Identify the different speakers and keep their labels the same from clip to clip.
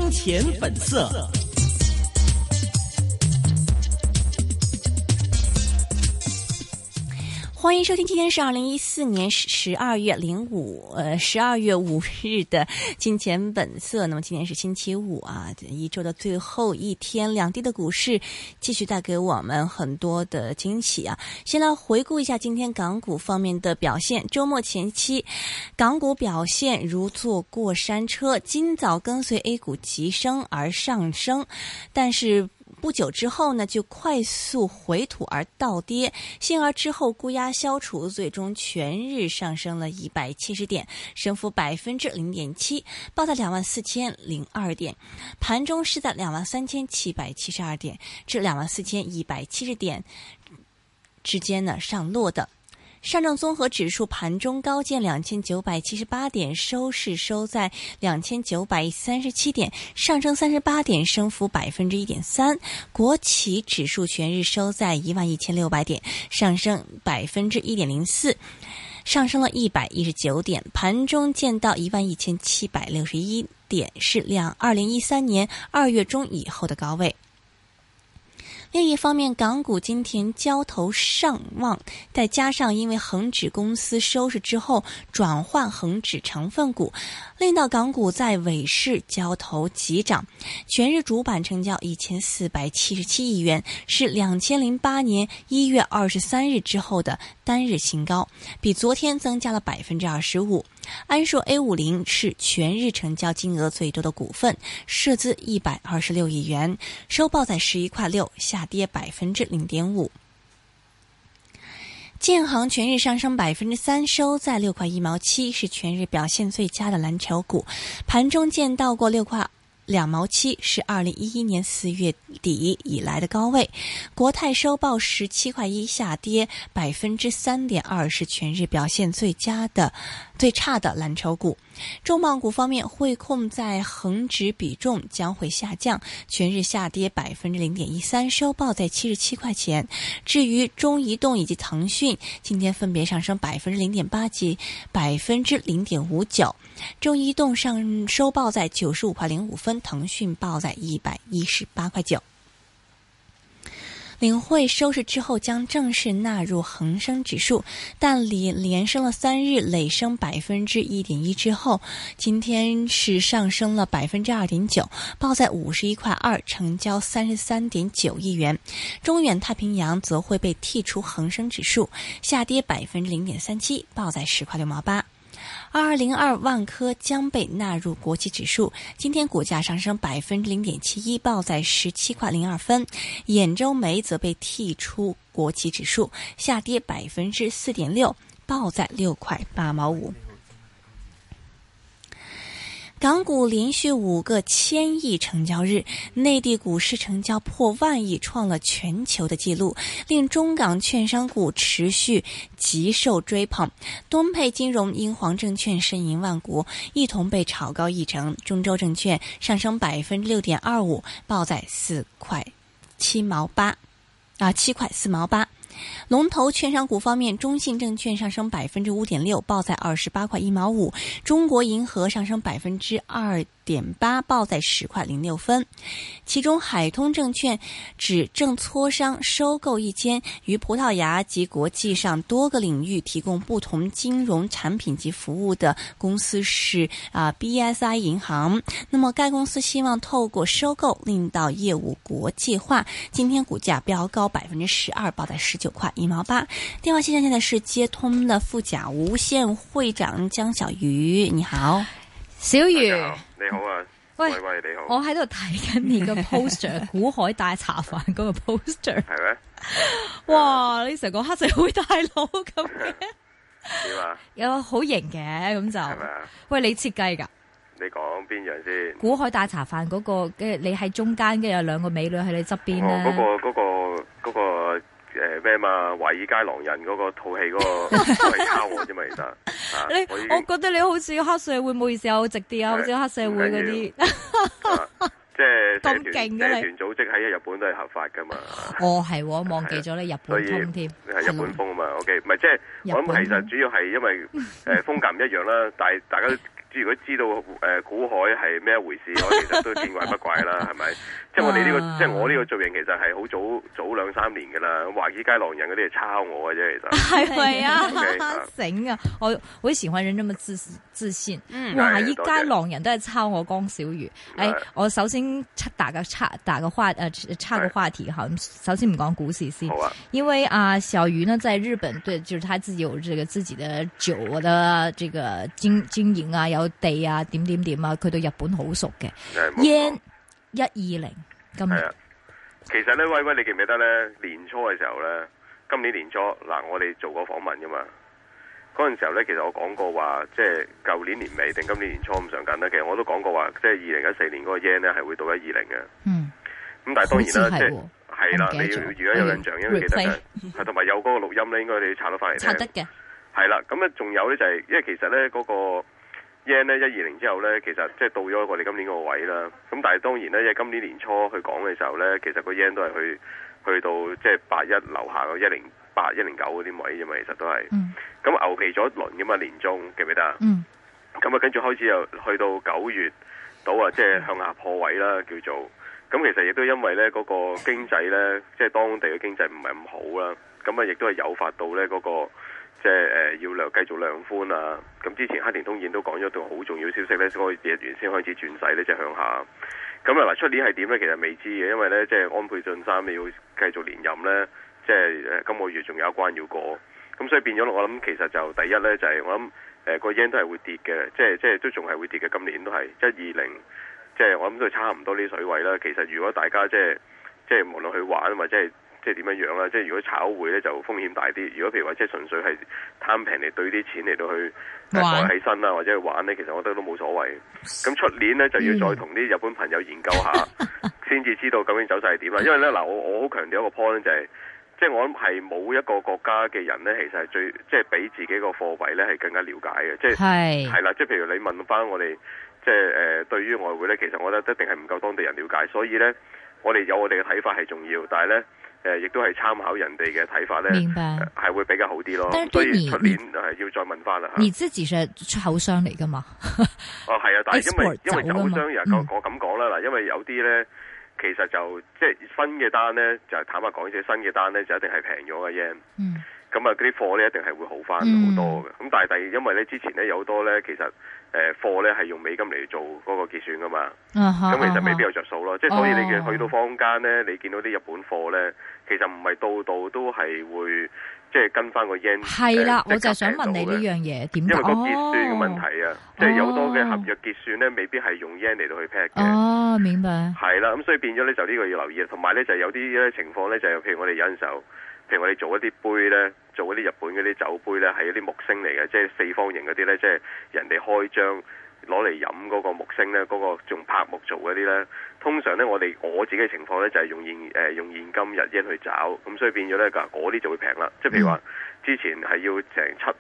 Speaker 1: 钱本色。
Speaker 2: 欢迎收听，今天是2014年12月5日的金钱本色。那么今天是星期五啊，一周的最后一天，两地的股市继续带给我们很多的惊喜啊。先来回顾一下今天港股方面的表现。周末前期，港股表现如坐过山车，今早跟随 A 股急升而上升，但是不久之后呢，就快速回吐而倒跌，幸而之后沽压消除，最终全日上升了170点，升幅0.7%，报在24,002点。盘中是在23,772点至24,170点之间呢上落的。上证综合指数盘中高见2978点，收市收在2937点，上升38点，升幅1.3%。国企指数全日收在11600点，上升1.04%。上升了119点，盘中见到11761点，是2013年2月中以后的高位。另一方面，港股今天交投上旺，再加上因为恒指公司收市之后转换恒指成分股，令到港股在尾市交投急涨，全日主板成交1477亿元，是2008年1月23日之后的单日新高，比昨天增加了25%。安硕 A50 是全日成交金额最多的股份，涉资126亿元，收报在11.6块，下跌0.5%。建行全日上升3%，收在6.1块，是全日表现最佳的蓝筹股，盘中见到过6.2块，是2011年4月底以来的高位。国泰收报17.1块，下跌3.2%，是全日表现最差的蓝筹股。重磅股方面，汇控在恒指比重将会下降，全日下跌0.13%，收报在77块钱。至于中移动以及腾讯，今天分别上升0.8%及0.59%。中移动收报在95.05块，腾讯报在118块9。领汇收市之后将正式纳入恒生指数，但连升了3日，累升1.1%之后，今天是上升了2.9%，报在51.2块，成交33.9亿元。中远太平洋则会被剔除恒生指数，下跌0.37%，报在10.6块。2202万科将被纳入国企指数，今天股价上升0.71%，报在17.02块。兗州煤则被剔出国企指数，下跌4.6%，报在6.8块。港股连续5个1000亿成交日，内地股市成交破万亿，创了全球的纪录，令中港券商股持续极受追捧。东沛金融、英皇证券、申银万国一同被炒高1成，中州证券上升6.25%，报在7.4毛8。龙头券商股方面，中信证券上升5.6%，报在28.1毛5；中国银河上升2.8%，报在10.06块。其中，海通证券指正磋商收购一间于葡萄牙及国际上多个领域提供不同金融产品及服务的公司是BSI 银行。那么，该公司希望透过收购令到业务国际化。今天股价飙高12%，报在19.1毛8。电话线上现在是接通了富甲无限会长江小瑜，你好，
Speaker 3: 小瑜，
Speaker 4: 你好啊，喂，你好，
Speaker 3: 我喺度睇緊你個 poster， 股海大茶飯嗰個 poster，
Speaker 4: 係咩？
Speaker 3: 哇！你成個黑社會大佬咁嘅，
Speaker 4: 點啊？
Speaker 3: 有好型嘅咁就，係咪啊？喂，你設計㗎？
Speaker 4: 你講邊樣先？
Speaker 3: 股海大茶飯嗰個，你喺中間，跟住有兩個美女喺你側邊咧。
Speaker 4: 嗰個咩嘛？華爾街狼人嗰個套戲嗰個都係抄我啫嘛，其實。
Speaker 3: 我覺得你好似黑社會，唔好意思啊，好直啲啊，好似黑社會嗰啲。
Speaker 4: 即係
Speaker 3: 咁勁嘅你。
Speaker 4: 社團組織喺日本都係合法噶嘛。
Speaker 3: 哦，係，我忘記咗你日本通添。
Speaker 4: 係日本風啊嘛 ，OK， 唔係即係我諗其實主要係因為風格唔一樣啦，但係大家如果知道股海係咩一回事，我其實都見怪不怪啦，係咪？即係我哋呢個，即係我呢個造型，其實係好早2-3年噶啦。華爾街狼人嗰啲係抄我嘅啫，其實
Speaker 3: 係咪啊？
Speaker 4: Okay,
Speaker 3: 醒啊！我喜歡人這麼自信。華爾街狼人都係抄我江小魚。我首先打個話題哈。首先唔講股市先，因為小魚呢在日本，對，就是他自己有這個自己的酒的這個經營啊，有地啊，點啊，佢對日本好熟嘅。yen 120今日。
Speaker 4: 其實咧，威，你記唔記得咧？年初嘅時候咧，今年年初嗱，我哋做過訪問噶嘛。嗰陣時候咧，其實我講過話，即係舊年年尾定今年年初咁上緊咧。其實我都講過話，即係2014年嗰個 yen 咧係會到120嘅。咁但係當然啦，即係啦，你要如果有印象，因為記得係同埋有嗰個錄音咧，應該你要查得翻嚟聽。
Speaker 3: 查得嘅。係
Speaker 4: 啦，咁咧仲有咧就係，因為其實咧嗰個 yen 咧120之後咧，其實即係到咗我哋今年個位啦。咁但係當然咧，因為今年年初去講嘅時候咧，其實個 yen 都係去到即係81樓下個108、109嗰啲位啫嘛，其實都係。咁牛皮咗一輪噶嘛，年中記唔記得啊？咁跟住開始又去到9月到啊，即係向下破位啦，叫做。咁其實亦都因為咧嗰個經濟咧，即係當地嘅經濟唔係咁好啦。咁亦都係誘發到咧嗰個。即係要繼續量寬啊！咁之前黑田東彥都講咗一段好重要消息咧，所以日元先開始轉勢咧，即係向下。咁嗱，出年係點咧？其實未知嘅，因為咧即係安倍晉三你要繼續連任咧，即係今個月仲有一關要過。咁所以變咗我諗，其實就第一咧就係我諗個 yen 都係會跌嘅，即係都仲係會跌嘅。今年都係120，即係我諗都係差唔多呢水位啦。其實如果大家即係無論去玩或者係。即係點樣樣啦？即係如果炒匯咧就風險大啲。如果譬如話即係純粹係貪平嚟對啲錢嚟到去改起身啦，或者去玩咧，其實我覺得都冇所謂。咁出年咧就要再同啲日本朋友研究下，先至知道究竟走勢係點啦。因為咧嗱，我好強調一個 point 就係，即係我諗係冇一個國家嘅人咧，其實係最即係比自己個貨幣咧係更加了解嘅。即係係啦，即係譬如你問翻我哋，即係對於外匯咧，其實我覺得一定係唔夠當地人了解。所以咧，我哋有我哋嘅睇法係重要，但係咧。亦都係參考人哋嘅睇法咧，係會比較好啲咯。所以出年要再問翻啦。
Speaker 3: 你自己係出口商嚟噶嘛？
Speaker 4: 係啊，但係因為走商人，我咁講啦嗱，因為有啲咧，其實就即係新嘅單咧，就坦白講，即係新嘅單咧就一定係平咗嘅 yen。咁啊，嗰啲貨咧一定係會好翻好多嘅。咁但係因為咧之前咧有好多咧，其實貨咧係用美金嚟做嗰個結算噶嘛。咁其實未必有着數咯。即係所以你去到坊間咧，你見到啲日本貨咧，其實唔係度度都係會即係跟翻個 yen。係啦，
Speaker 3: 我就想問你呢樣嘢點解？
Speaker 4: 因為個結算嘅問題啊，即係有好多嘅合約結算咧，未必係用 yen 嚟到去 peg 嘅。
Speaker 3: 哦，明白。係
Speaker 4: 啦，咁所以變咗咧就呢個要留意。同埋咧就有啲咧情況咧就係譬如我哋有陣時候。譬如我哋做一啲杯咧，做嗰啲日本嗰啲酒杯咧，係一啲木星嚟嘅，即係四方形嗰啲咧，即係人哋開張攞嚟飲嗰個木星咧，嗰個用柏木做嗰啲咧，通常咧我自己嘅情況咧就係用現金日元去找，咁所以變咗咧嗰啲就會平啦。即係譬如話之前係要成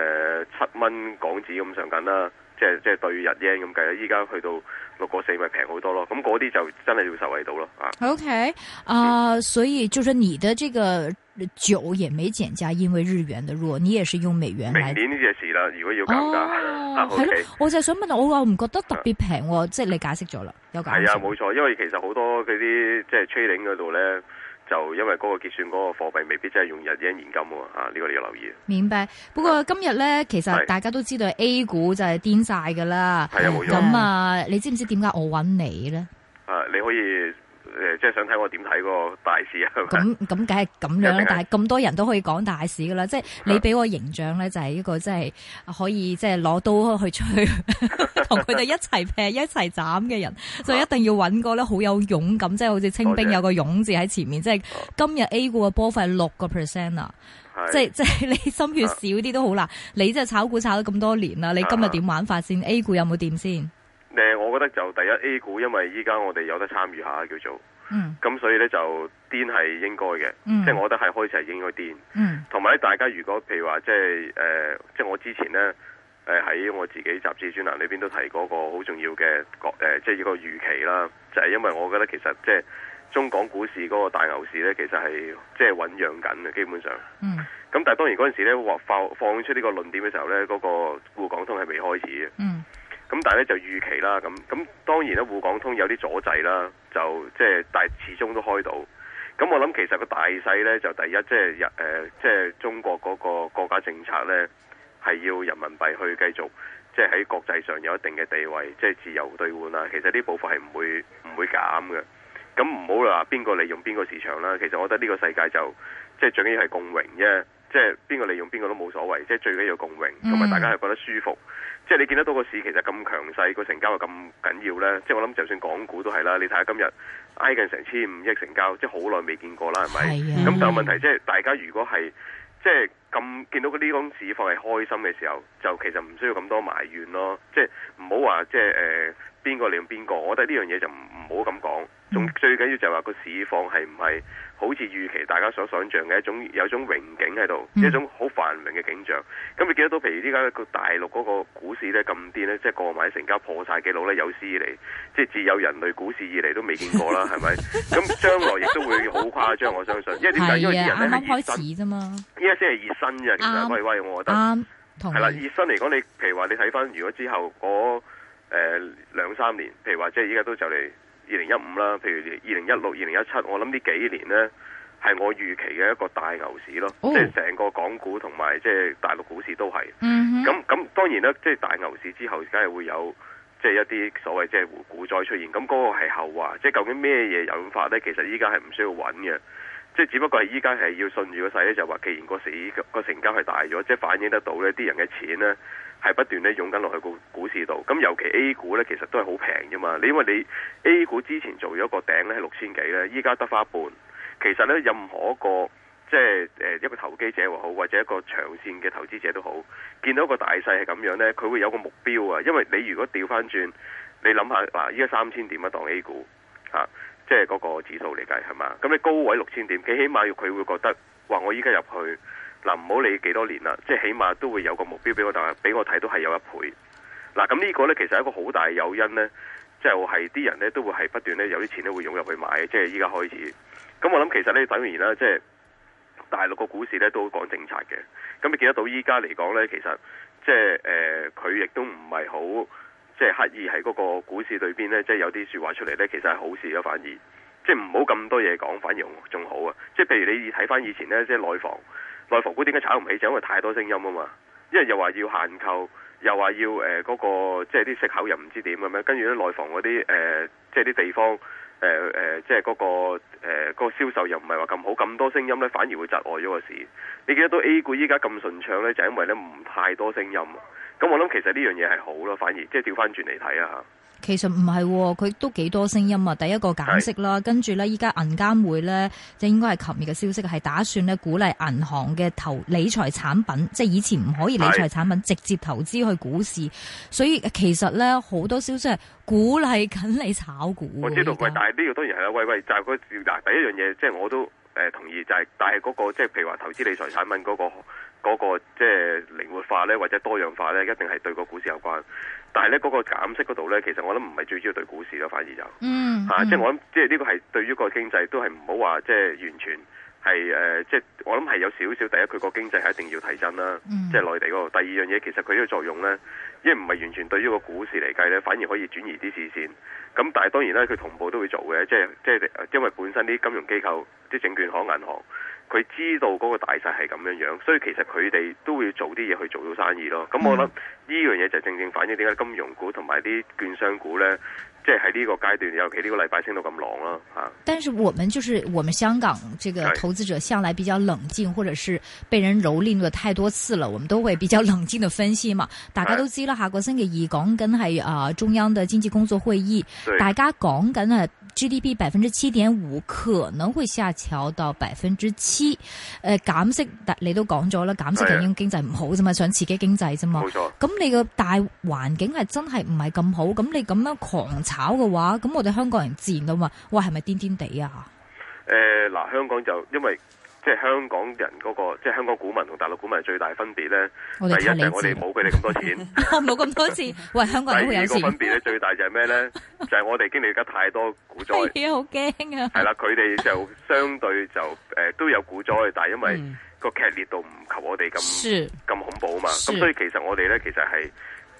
Speaker 4: 7蚊港紙咁上緊啦，即係對日元咁計啦，依家去到6個4咪平好多咯。咁嗰啲就真係要受惠到咯。
Speaker 3: OK，所以就是你的這個酒也沒減價，因為日元的弱，你也是用美元來。
Speaker 4: 明年呢隻事啦，如果要減價，
Speaker 3: 係咯，我就係想問，我又唔覺得特別平，即係你解釋咗啦，有解釋。係啊，
Speaker 4: 冇錯，因為其實好多嗰啲即係 trading 嗰度咧，就因為嗰個結算嗰個貨幣未必真係用日元現金喎，呢個你要留意。
Speaker 3: 明白。不過今日咧，其實大家都知道 A 股就係癲晒噶啦。
Speaker 4: 係啊，冇錯。
Speaker 3: 咁你知唔知點解我揾你咧？
Speaker 4: 你可以。即係想睇我點睇個大市啊？
Speaker 3: 咁梗係咁樣啦，但係咁多人都可以講大市噶啦，即係你俾我形象咧，就係一個即係可以即係攞刀去吹，同佢哋一齊劈一齊斬嘅人，就一定要揾個咧好有勇敢，即係好似清兵有個勇字喺前面。即係今日 A 股嘅波幅係6% 啊！即係你心血少啲都好啦。你即係炒股炒咗咁多年啦，你今日點玩法先？A 股有冇掂先？
Speaker 4: 我覺得就第一 A 股，因為依家我哋有得參與下叫做，咁所以咧就癲係應該嘅，即係我覺得係開始係應該癲。同埋咧，大家如果譬如話即係我之前咧喺我自己雜誌專欄裏邊都提過個好重要嘅即係一個預期啦，就係因為我覺得其實即係中港股市嗰個大牛市咧，其實係即係醞釀緊嘅基本上。咁但係當然嗰陣時咧放出呢個論點嘅時候咧，嗰個滬港通係未開始嘅。咁咁但係咧就預期啦，咁當然咧滬港通有啲阻滯啦，就即係但係始終都開到。咁我諗其實個大勢咧就第一即係中國嗰個國家政策咧係要人民幣去繼續即係喺國際上有一定嘅地位，即係自由兌換啦。其實呢部分係唔會減嘅。咁唔好話邊個利用邊個市場啦。其實我覺得呢個世界就即係最緊要係共榮啫。即係邊個利用邊個都冇所謂，即係最緊要共榮，同埋大家係覺得舒服。即係你見得到個市其實咁強勢，個成交又咁緊要呢。即係我諗就算港股都係啦，你睇下今日挨近成1500億成交，即係好耐未見過啦，係咪？咁但係問題即係大家如果係即係咁見到呢種市況係開心嘅時候，就其實唔需要咁多埋怨咯。即係唔好話即係邊個利用邊個，我覺得呢樣嘢就唔好咁講。最緊要就係話個市況係唔係好似預期大家所想像嘅有一種榮景喺度，一種好繁榮嘅景象。咁你見得到，譬如依家個大陸嗰個股市咧咁癲咧，即係購買成交破晒紀錄咧，有史以嚟，即係自有人類股市以嚟都未見過啦，係咪？咁將來亦都會好誇張，我相信。因為點解？因為啲人咧係熱身啫嘛，依家先係熱身啫。其實喂，我覺得係啦，熱身嚟講，你譬如話你睇翻，如果之後嗰2-3年，譬如話即係依家都就嚟2015啦，譬如2016、2017，我諗呢幾年呢係我預期嘅一個大牛市咯，即係成個港股同埋即係大陸股市都係。咁當然啦，即係大牛市之後，梗係會有即係一啲所謂即係股災出現。咁嗰個係後話，即係究竟咩嘢引發呢？其實依家係唔需要揾嘅，即係只不過係依家係要順住個勢咧，就話既然個成交係大咗，即係反映得到呢啲人嘅錢呢係不斷咧湧緊落去個股市度，咁尤其 A 股咧，其實都係好平啫嘛。因為你 A 股之前做咗個頂咧係6000幾咧，依家得返一半。其實咧，任何一個即係一個投機者又好，或者一個長線嘅投資者都好，見到個大勢係咁樣咧，佢會有個目標啊。因為你如果調翻轉，你諗下嗱，依家3000點一檔 A 股嚇，即係嗰個指數嚟計係嘛？咁你高位6000點，佢起碼要佢會覺得話我依家入去。嗱，唔好理幾多年啦，即係起碼都會有個目標俾我，但係俾我睇都係有1倍。嗱，咁呢個呢，其實係一個好大嘅誘因呢，就係啲人呢都會係不斷呢有啲錢呢會湧入去買，即係依家開始。咁我諗其實呢，等於啦，即係大陸個股市呢都講政策嘅。咁你見得到依家嚟講呢，其實即係佢亦都唔係好即係刻意喺嗰個股市裏邊呢，即係有啲説話出嚟呢，其實係好事咯，反而即係唔好咁多嘢講，反而仲好啊。即係譬如你睇翻以前呢，即係內房股點解炒唔起？就因為太多聲音啊嘛，因為又話要限購，又話要嗰個即係啲息口又唔知點咁樣，跟住咧內房嗰啲即係啲地方即係嗰個銷售又唔係話咁好，咁多聲音咧反而會窒礙咗個市。你見得到 A 股依家咁順暢咧，就因為咧唔太多聲音。咁我諗其實呢樣嘢係好咯，反而即係調翻轉嚟睇啊。
Speaker 3: 其實唔係，佢都幾多聲音啊！第一個減息啦，跟住咧依家銀監會咧，即係應該係琴日嘅消息，係打算咧鼓勵銀行嘅理財產品，即係以前唔可以理財產品直接投資去股市，所以其實咧好多消息係鼓勵緊你炒股。我知道，
Speaker 4: 但係呢個當然係啦，喂，就係嗱第一樣嘢，即係我都同意，就係但係嗰個即係譬如話投資理財產品嗰個即係靈活化咧，或者多樣化咧，一定係對個股市有關。但係咧嗰個減息嗰度咧，其實我諗唔係最主要對股市咯，反而就即係我諗，即係呢個係對於個經濟都係唔好話即係完全係即係我諗係有少少。第一，佢個經濟係一定要提振啦，即係內地嗰度。第二樣嘢，其實佢呢個作用咧，因為唔係完全對於個股市嚟計咧，反而可以轉移啲視線。咁但係當然咧，佢同步都會做嘅，即係因為本身啲金融機構、啲證券行、銀行。佢知道嗰個大勢係咁樣樣，所以其實佢哋都會做啲嘢去做到生意咯。咁我諗呢樣嘢就正正反映點解金融股同埋啲券商股呢，即係喺呢個階段，尤其呢個禮拜升到咁狼咯嚇。
Speaker 3: 但是我們香港這個投資者向來比較冷靜，或者是被人蹂躪咗太多次了，我們都會比較冷靜的分析嘛。大家都知啦，下個星期二講緊係中央的經濟工作會議，大家講緊係 GDP 7.5%可能會下調到7%。減息，你都講咗啦，減息就已經經濟唔好啫嘛，想刺激經濟啫嘛。冇錯。咁你個大環境係真係唔係咁好，咁你咁樣狂炒嘅話，咁我哋香港人自然都話，哇，係咪癲癲地啊？
Speaker 4: 嗱，香港就因為即係香港人嗰個，即係香港股民同大陸股民最大分別咧，第一就係我哋冇佢哋咁多錢，
Speaker 3: 我冇咁多錢。喂，香港人好有錢。
Speaker 4: 第二個分別咧，最大就係咩咧？就係我哋經歷咗太多股災，
Speaker 3: 係啊，好驚啊！
Speaker 4: 係啦，佢哋就相對就都有股災，但係因為個劇烈度唔及我哋咁恐怖啊嘛。咁所以其實我哋咧，其實係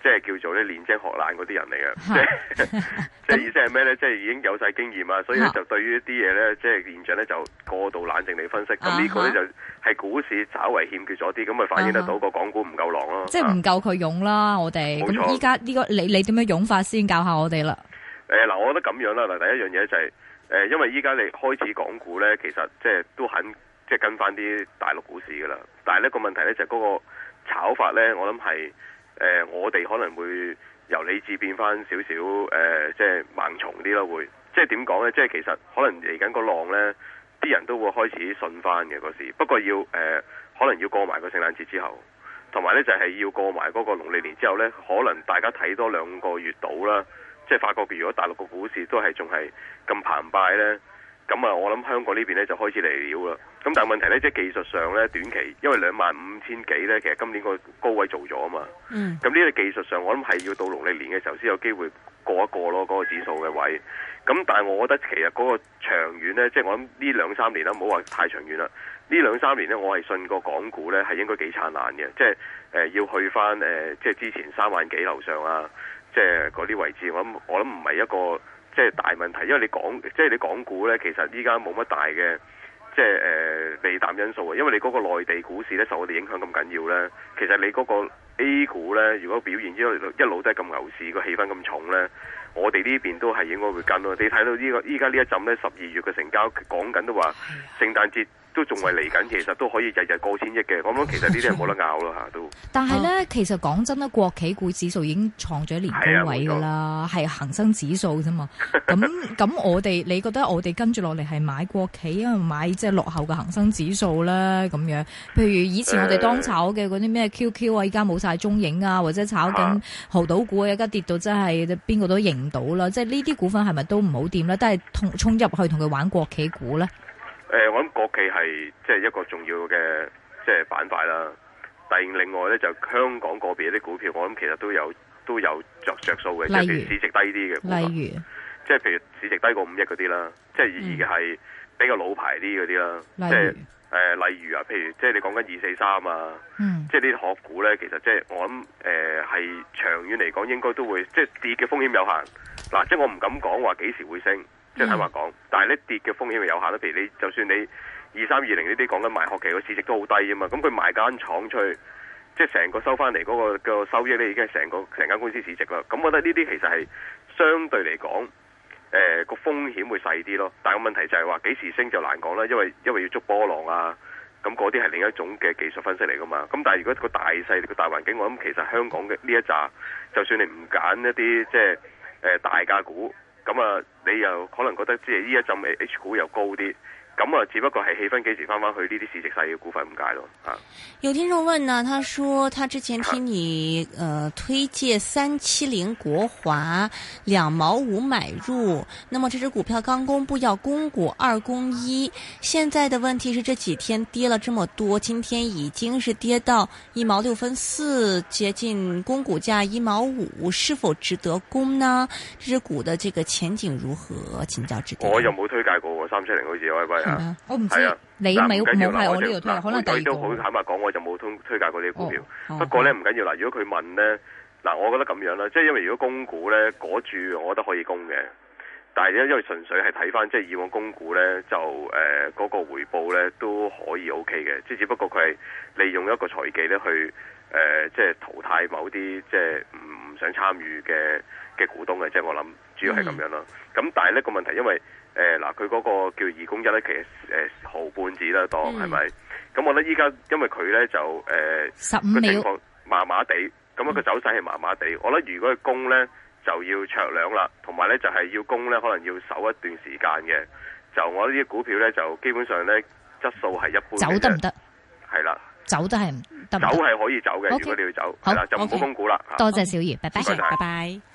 Speaker 4: 即係叫做咧練精學懶嗰啲人嚟嘅，即係意思係咩咧？即係已經有晒經驗啊，所以咧就對於一啲嘢咧，即係現象咧就過度冷靜地分析。咁呢個咧就係股市稍為欠缺咗啲，咁咪反映得到個港股唔夠狼咯。
Speaker 3: 即係唔夠佢勇啦，我哋。咁依家呢個你點樣勇法先教下我哋啦？嗱，
Speaker 4: 我覺得咁樣啦。嗱，第一樣嘢就係因為依家你開始港股咧，其實即係都肯即係跟翻啲大陸股市噶啦。但係呢個問題咧就係嗰個炒法咧，我諗係。我哋可能會由理智變翻少少，即係盲從啲咯，會即係點講呢？即係其實可能嚟緊個浪呢，啲人都會開始信翻嘅嗰時。不過要可能要過埋個聖誕節之後，同埋呢就係要過埋嗰個農曆年之後呢，可能大家睇多2個月到啦，即係發覺如果大陸個股市都係仲係咁澎湃呢。咁啊，我諗香港呢邊咧就開始嚟料啦。咁但係問題咧，即係技術上咧，短期因為25,000幾咧，其實今年個高位做咗啊嘛。咁呢個技術上，我諗係要到農曆年嘅時候先有機會過一過咯，嗰個指數嘅位。咁但係我覺得其實嗰個長遠咧，即係我諗呢2-3年啦，唔好話太長遠啦。呢2-3年咧，我係信個港股咧係應該幾燦爛嘅，即係要去翻即係之前3萬幾樓上啊，即係嗰啲位置。我諗唔係一個。即係大問題，因為你港股咧，其實依家冇乜大嘅即係利淡因素啊。因為你嗰個內地股市咧受我哋影響咁緊要咧，其實你嗰個 A 股咧，如果表現一路都係咁牛市，個氣氛咁重咧，我哋呢邊都係應該會跟咯。你睇到依家呢一陣咧，12月嘅成交講緊都話聖誕節。都仲係嚟緊，其實都可以日日過千億嘅。咁樣其實呢啲係冇得拗咯嚇，都。
Speaker 3: 但係咧，其實講真啦，國企股指數已經創咗年高位㗎啦，係恒生指數啫嘛。咁我哋，你覺得我哋跟住落嚟係買國企啊，買即係落後嘅恒生指數咧咁樣？譬如以前我哋當炒嘅嗰啲咩 QQ 啊，依家冇晒蹤影啊，或者炒緊濠賭股啊，而家跌到真係邊個都認唔到啦。即係呢啲股份係咪都唔好掂咧？都係衝入去同佢玩國企股咧？
Speaker 4: 我諗國企係即係一個重要嘅即係板塊啦。但係另外咧就香港個別啲股票，我諗其實都有着數嘅，即係譬如市值低啲嘅股份，即係譬如市值低過5億嗰啲啦，即係而係比較老牌啲嗰啲啦。即係例如啊，譬如即係你講緊243啊，即係呢啲殼股咧，其實即係我諗係長遠嚟講應該都會即係跌嘅風險有限。嗱，即係我唔敢講話幾時會升。即係坦白講，但係咧跌嘅風險係有限啦。譬如你就算你2320呢啲講緊賣殼期個市值都好低啊嘛，咁佢賣間廠出去，即係成個收翻嚟嗰個收益咧已經係成間公司市值啦。咁我覺得呢啲其實係相對嚟講，個風險會細啲咯。但係個問題就係話幾時升就難講啦，因為要捉波浪啊，咁嗰啲係另一種嘅技術分析嚟噶嘛。咁但係如果個大勢個大環境，我諗其實香港嘅呢一紮，就算你唔揀一啲即係大價股。咁啊，你又可能覺得即係呢一陣 H 股又高啲，咁啊，只不過係氣氛幾時翻去呢啲市值細嘅股份唔解咯嚇。
Speaker 2: 有聽眾問呢，他說他之前聽你推介370國華2毛5買入，那麼這隻股票剛公布要供股2供1，現在的問題是這幾天跌了這麼多，今天已經是跌到1毛6分4，接近供股價1毛5，是否值得供呢？這隻股的這個前景如何？請教指點。
Speaker 4: 我又冇推介過370，好似威啊，
Speaker 3: 我唔知啊。你冇係我呢度推，可能第二個。
Speaker 4: 都好坦白講，我就冇推介過呢啲股票。不過咧唔緊要啦，如果佢問咧，嗱，我覺得咁樣啦，即係因為如果供股咧嗰注，我覺得可以供嘅。但係因為純粹係睇翻即係以往供股咧，就嗰個回報咧都可以 OK 嘅，即係只不過佢係利用一個財技咧去即係淘汰某啲即係唔想參與嘅股東嘅，即係我諗主要係咁樣咯。咁但係呢個問題因為。嗱，佢嗰個叫2供1咧，其實毫半子啦，當係咪？咁我覺得依家因為佢咧就個情況麻麻地，咁樣個走勢係麻麻地。我覺得如果佢供咧就要長兩啦，同埋咧就係要供咧可能要守一段時間嘅。就我呢啲股票咧就基本上咧質素係一般嘅。走得唔得？係啦，
Speaker 3: 走得係唔得？走
Speaker 4: 係可以走嘅，如果你要走，係啦，就唔好供股啦。
Speaker 3: 多謝小儀，拜拜，
Speaker 2: 拜拜。